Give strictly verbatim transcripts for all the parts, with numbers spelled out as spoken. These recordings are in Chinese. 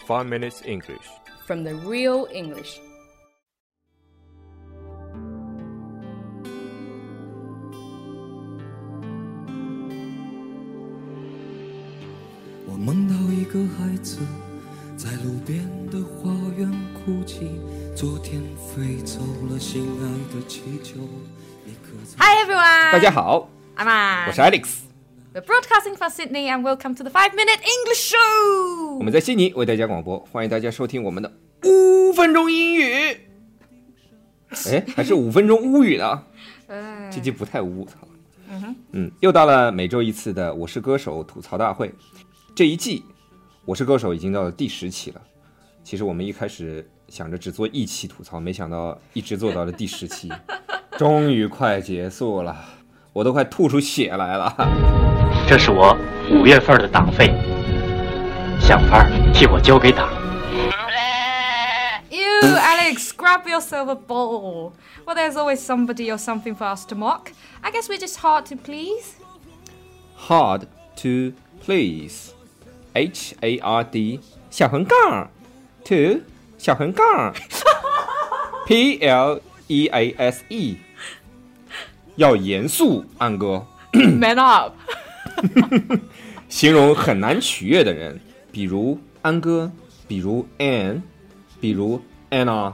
five minutes English from the real English. 我梦到一个孩子在路边的花园哭泣，昨天飞走了心爱的气球。 Hi everyone! 大家好 I'm Anne. 我是 Alex。We're broadcasting from Sydney and welcome to the five minute English show! 我们在悉尼为大家广播，欢迎大家收听我们的五分钟英语。哎，还是五分钟乌语呢？这集不太污，操。嗯, 嗯，又到了每周一次的《我是歌手》吐槽大会。这一季《我是歌手》已经到了第十期了。其实我们一开始想着只做一期吐槽，没想到一直做到了第十期，终于快结束了，我都快吐出血来了。 这是我五月份的党费，想法替我交给党。 Ew, Alex, grab yourself a ball. Well, there's always somebody or something for us to mock. I guess we're just hard to please. Hard to please. H A R D 小横杠 to 小横杠 P L E A S E 要严肃，安哥。 Man up. 形容很难取悦的人，比如安哥，比如 Anne， 比如 Anna。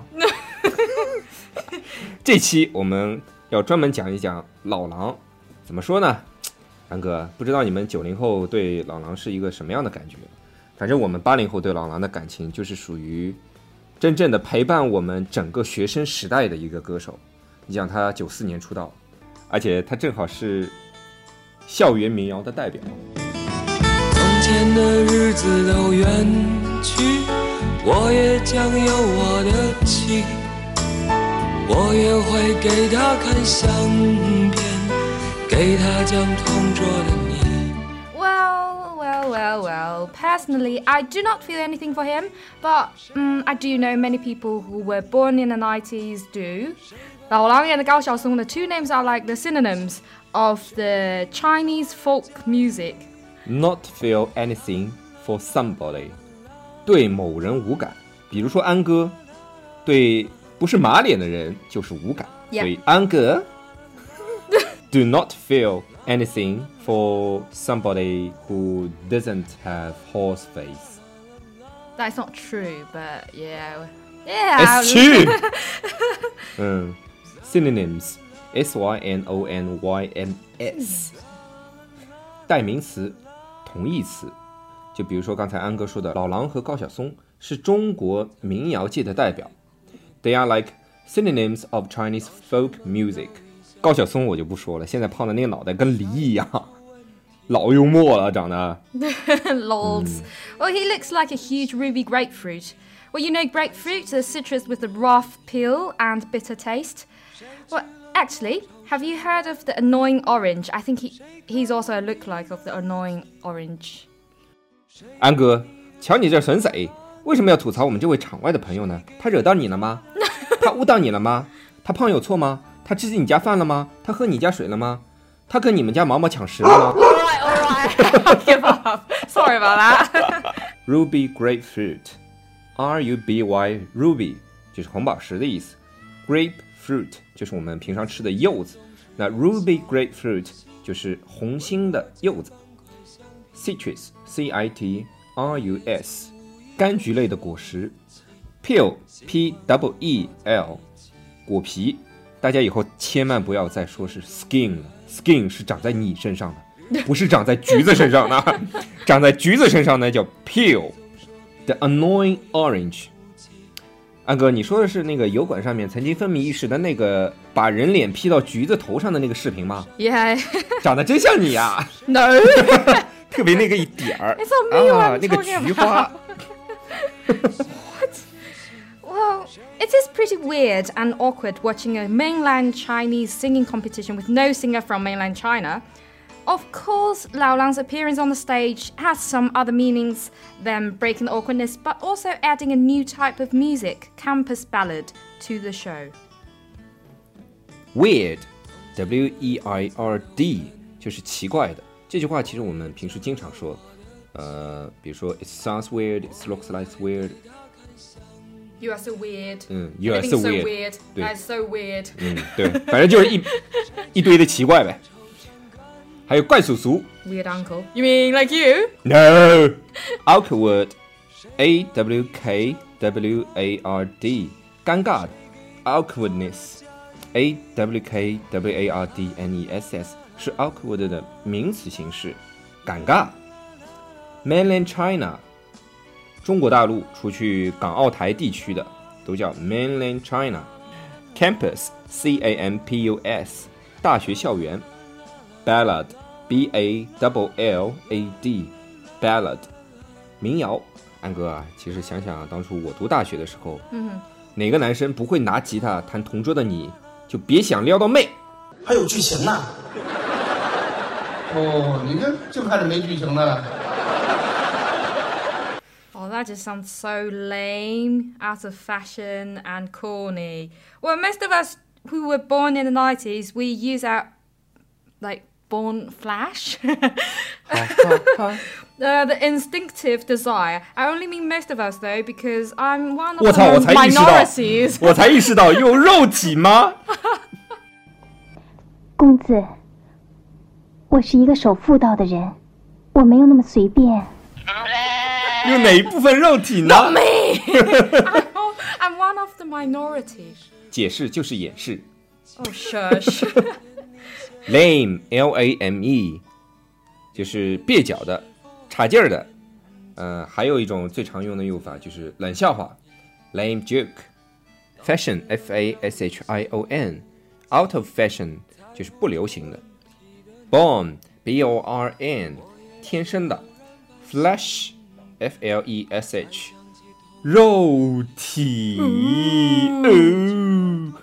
这期我们要专门讲一讲老狼。怎么说呢？安哥，不知道你们九零后对老狼是一个什么样的感觉？反正我们八零后对老狼的感情就是属于真正的陪伴我们整个学生时代的一个歌手。你想他九四年出道，而且他正好是校园民谣的代表。 从前的日子都远去，我也将有我的妻，我也会给他看相片，给他讲同桌的你。 Well, well, well, well. Personally, I do not feel anything for him, but um, I do know many people who were born in the nineties do. 老狼 and 高晓松, the two names are like the synonyms of the Chinese folk music. Not feel anything for somebody. 对某人无感，比如说安哥，对不是马脸的人就是无感。 Yeah. 所以安哥do not feel anything for somebody who doesn't have horse face. That's not true, but yeah. Yeah. It's true. 嗯 synonyms S Y N O N Y M S 代名词同义词，就比如说刚才安哥说的老狼和高晓松是中国民谣界的代表， They are like synonyms of Chinese folk music。 高晓松我就不说了，现在胖的那个脑袋跟梨一样，老幽默了长得。 Lords. Well, he looks like a huge ruby grapefruit. Well, you know grapefruit, the citrus with the rough peel and bitter taste. Well, actually, have you heard of the annoying orange? I think he he's also a lookalike of the annoying orange. 安哥，瞧你这损贼，为什么要吐槽我们这位场外的朋友呢？他惹到你了吗？他误导你了吗？他胖有错吗？他吃你家饭了吗？他喝你家水了吗？他跟你们家毛毛抢食了吗？ All right, all right. I'll give up. Sorry about that. Ruby grapefruit, R U B Y ruby 就是红宝石的意思， grapefruit 就是我们平常吃的柚子，那 ruby grapefruit 就是红心的柚子。 citrus C I T R U S 柑橘类的果实， peel P E E L 果皮，大家以后千万不要再说是 skin 了， skin 是长在你身上的，不是长在橘子身上的。长在橘子身上呢叫 peel。 The annoying orange。 安哥，你说的是那个油管上面曾经风靡一时的那个把人脸 P 到橘子头上的那个视频吗？ Yeah. 长得真像你呀。 No. 特别那个一点儿 It's not me, 啊 I'm 那个 talking 菊花。 Well, it is pretty weird and awkward watching a mainland Chinese singing competition with no singer from mainland China. Of course, Lao Lang's appearance on the stage has some other meanings than breaking the awkwardness, but also adding a new type of music, campus ballad, to the show. Weird, W E I R D 就是奇怪的。这句话其实我们平时经常说， 呃，比如说 it sounds weird, it looks like weird. You are so weird. 嗯 ，You are so so weird. weird. 对 That's so weird. 嗯，对，反正就是一一堆的奇怪呗。还有怪叔叔 Weird uncle. You mean like you? ，No, awkward, A W K W A R D， 尴尬的 awkwardness, A W K W A R D N E S S 是 awkward 的名词形式，尴尬。Mainland China， 中国大陆除去港澳台地区的都叫 Mainland China。Campus, C A M P U S， 大学校园。Ballad, B A L L A D, ballad， 民谣。安哥啊，其实想想、啊、当初我读大学的时候，嗯，哪个男生不会拿吉他弹同桌的你，就别想撩到妹。 还有剧情呢。哦，你看就看着没剧情的了。 Oh, that just sounds so lame, out of fashion, and corny. Well, most of us who were born in the nineties, we use our, like, born flash. uh, the instinctive desire. I only mean most of us, though, because I'm one of 我操，我 the 才意识到， minorities. 我才意识到有肉体吗？ 公子，我是一个守妇道的人，我没有那么随便。 有哪一部分肉体呢？ Not me! I'm, I'm one of the minority. 解释就是掩饰。 Oh, shush. Lame, L A M E， 就是蹩脚的、差劲儿的。呃，还有一种最常用的用法就是冷笑话 ，lame joke。Fashion, F A S H I O N, out of fashion 就是不流行的。Born, B O R N， 天生的。Flesh, F L E S H， 肉体。哦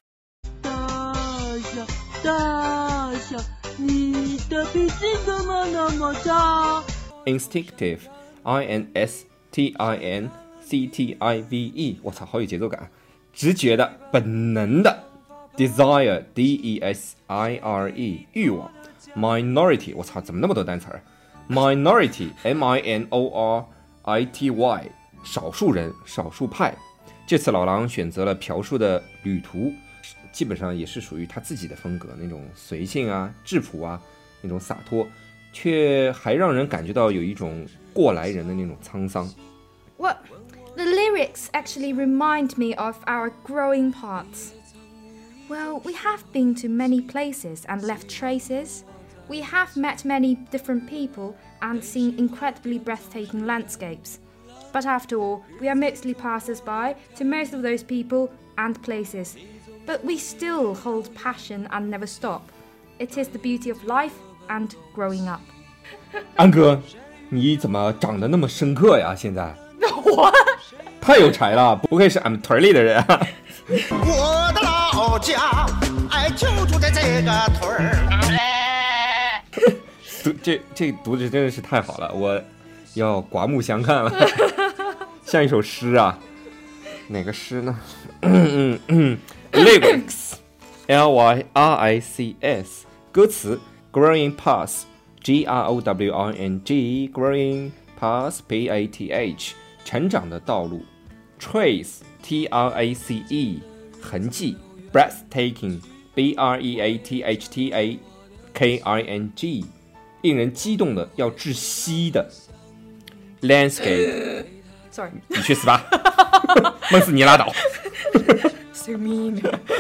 大象，你的脾气怎么那么差 Instinctive, I N S T I N C T I V E， 我操，好有节奏感。直觉的、本能的。Desire, D E S I R E， 欲望。Minority， 我操，怎么那么多单词儿 ？Minority, M I N O R I T Y， 少数人、少数派。这次老狼选择了朴树的《旅途》。基本上也是属于他自己的风格，那种随性啊、质朴啊，那种洒脱，却还让人感觉到有一种过来人的那种沧桑。 Well, the lyrics actually remind me of our growing parts. Well, we have been to many places and left traces. We have met many different people and seen incredibly breathtaking landscapes. But after all, we are mostly passers-by to most of those people and places.But we still hold passion and never stop. It is the beauty of life and growing up. 安哥，你怎么长得那么深刻呀？现在我太有才了，不愧是俺们屯里的人啊！ 我的老家，哎，就住在这个屯儿。 读这这读的真的是太好了，我要刮目相看了，像一首诗啊。哪个诗呢？嗯嗯。Lyrics, L Y R I C S， 歌词 Growing Paths, G R O W I N G, Growing Paths, P A T H， 成长的道路。Trace, T R A C E， 痕迹。Breathtaking, B R E A T H T A K I N G， 令人激动的要窒息的。Landscape， Sorry， 你去死吧，闷死你拉倒。 So mean.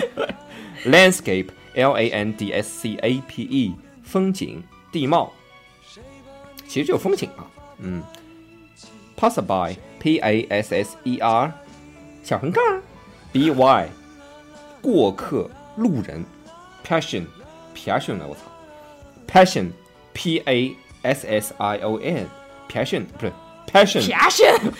Landscape, L A N D S C A P E， 风景、地貌。其实就有风景啊，嗯。Passerby, P A S S E R， 小横杠 B Y， 过客、路人。Passion, passion 了，我操。Passion, P A S S I O N， passion 不是 passion。 Passion.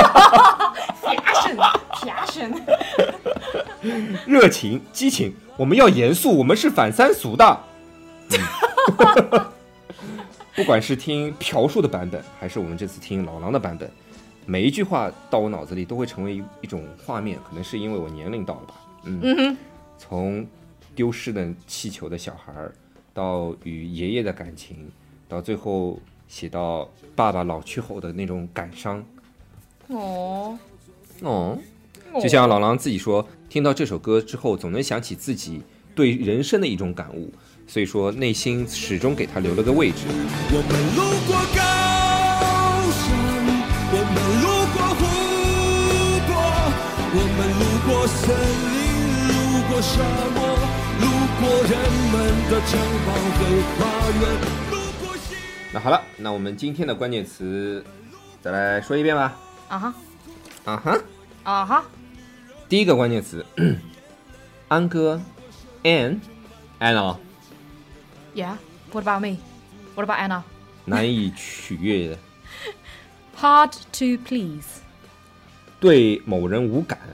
Passion. Passion. 热情、激情，我们要严肃，我们是反三俗的。嗯、不管是听朴树的版本，还是我们这次听老狼的版本，每一句话到我脑子里都会成为一种画面，可能是因为我年龄到了吧。嗯，嗯从丢失的气球的小孩，到与爷爷的感情，到最后写到爸爸老去后的那种感伤。 哦哦，就像老狼自己说，听到这首歌之后，总能想起自己对人生的一种感悟，所以说内心始终给他留了个位置。 我们路过高山，我们路过湖泊，我们路过森林，路过沙漠，路过人们的城堡和花园，路过西。 那好了，那我们今天的关键词再来说一遍吧。 啊哈啊哈啊哈， 第一个关键词，安哥 ，Ann Anna， Yeah. What about me? What about Anna? 难以取悦的， Hard to please. 对某人无感，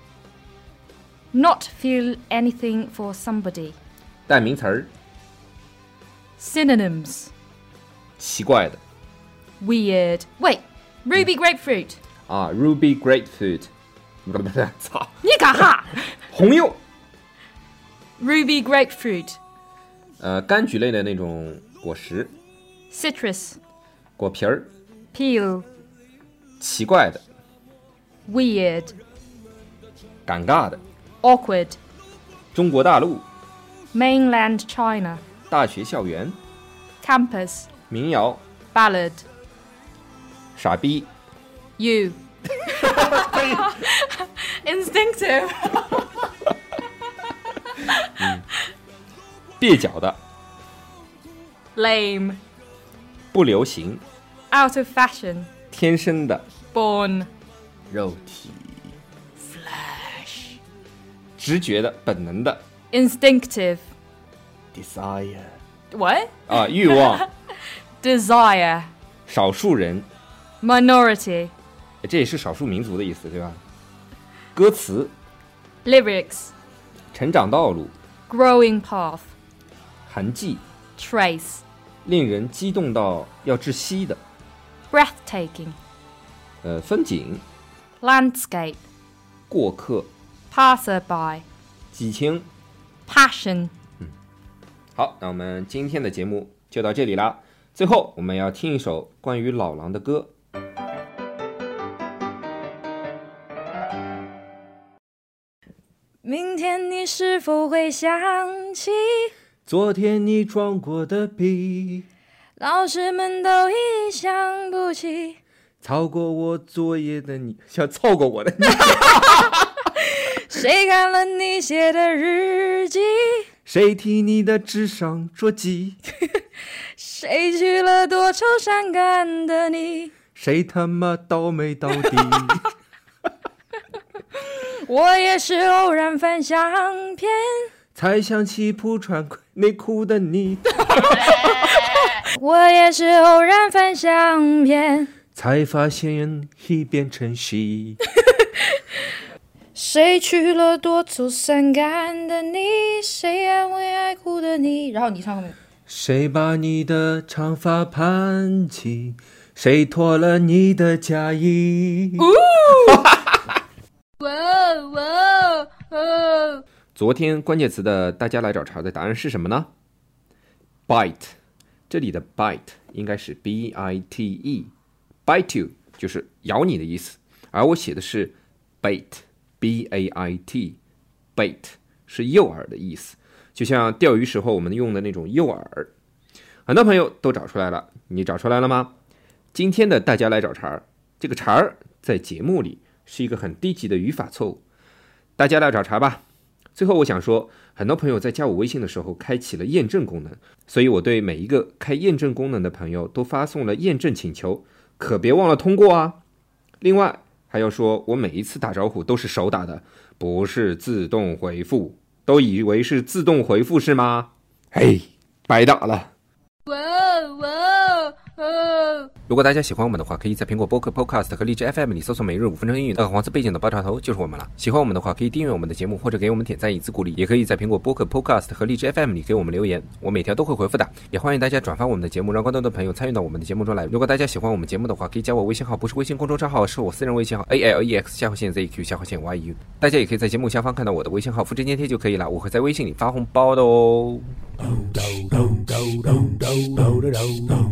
Not feel anything for somebody. 代名词儿， Synonyms. 奇怪的 Weird. Wait. Ruby grapefruit. 啊 ，Ruby grapefruit， 不不不，操， 你干哈？ 红柚， Ruby grapefruit. 呃，柑橘类的那种果实， Citrus. 果皮儿， Peel. 奇怪的， Weird. 尴尬的， Awkward. 中国大陆， Mainland China. 大学校园， Campus. 民谣， Ballad. 傻逼， You. Instinctive. 蹩脚的， Lame. 不流行， Out of fashion. 天生的， Born. 肉体 ，flesh， 直觉的，本能的 Instinctive. ，desire， What? 啊，欲望， Desire. 少数人， Minority. 这也是少数民族的意思，对吧？歌词， Lyrics. 成长道路， Growing path. 痕迹， Trace. 令人激动到要窒息的， Breathtaking. 呃，风景， Landscape. 过客， Passerby. 激情。 Passion. 好，那我们今天的节目就到这里啦。最后，我们要听一首关于老狼的歌。 明天你是否会想起昨天你装过的逼， 老师们都已想不起， 抄过我作业的你，想抄过我的你， 谁看了你写的日记， 谁替你的智商捉鸡， 谁娶了多愁善感的你， 谁他妈倒霉到底。 我也是偶然翻相片， 才想起不穿内裤的你， 我也是偶然翻相片， 才发现已变成戏。 谁娶了多愁善感的你，谁安慰爱哭的你，然后你唱后面， 谁把你的长发盘起，谁脱了你的嫁衣。 哇哇哦！ 昨天关键词的大家来找茬的答案是什么呢？ Bite， 这里的 bite 应该是 B I T E， bite you 就是咬你的意思，而我写的是 bait， B A I T， bait 是诱饵的意思，就像钓鱼时候我们用的那种诱饵。很多朋友都找出来了，你找出来了吗？今天的大家来找茬，这个茬儿在节目里是一个很低级的语法错误，大家来找茬吧。最后我想说，很多朋友在加我微信的时候开启了验证功能，所以我对每一个开验证功能的朋友都发送了验证请求，可别忘了通过啊。另外还要说，我每一次打招呼都是手打的，不是自动回复，都以为是自动回复是吗？嘿，白打了。 哇哇哦！ 如果大家喜欢我们的话，可以在苹果播客 Podcast 和荔枝 F M 里搜索每日五分钟英语，那个黄色背景的爆炸头就是我们了。喜欢我们的话，可以订阅我们的节目，或者给我们点赞以资鼓励，也可以在苹果播客 Podcast 和荔枝 F M 里给我们留言，我每条都会回复的。也欢迎大家转发我们的节目，让更多的朋友参与到我们的节目中来。如果大家喜欢我们节目的话，可以加我微信号，不是微信公众账号，是我私人微信号 A L E X 下划线 Z Q 下划线 Y U。大家也可以在节目下方看到我的微信号，复制粘贴就可以了，我会在微信里发红包的哦。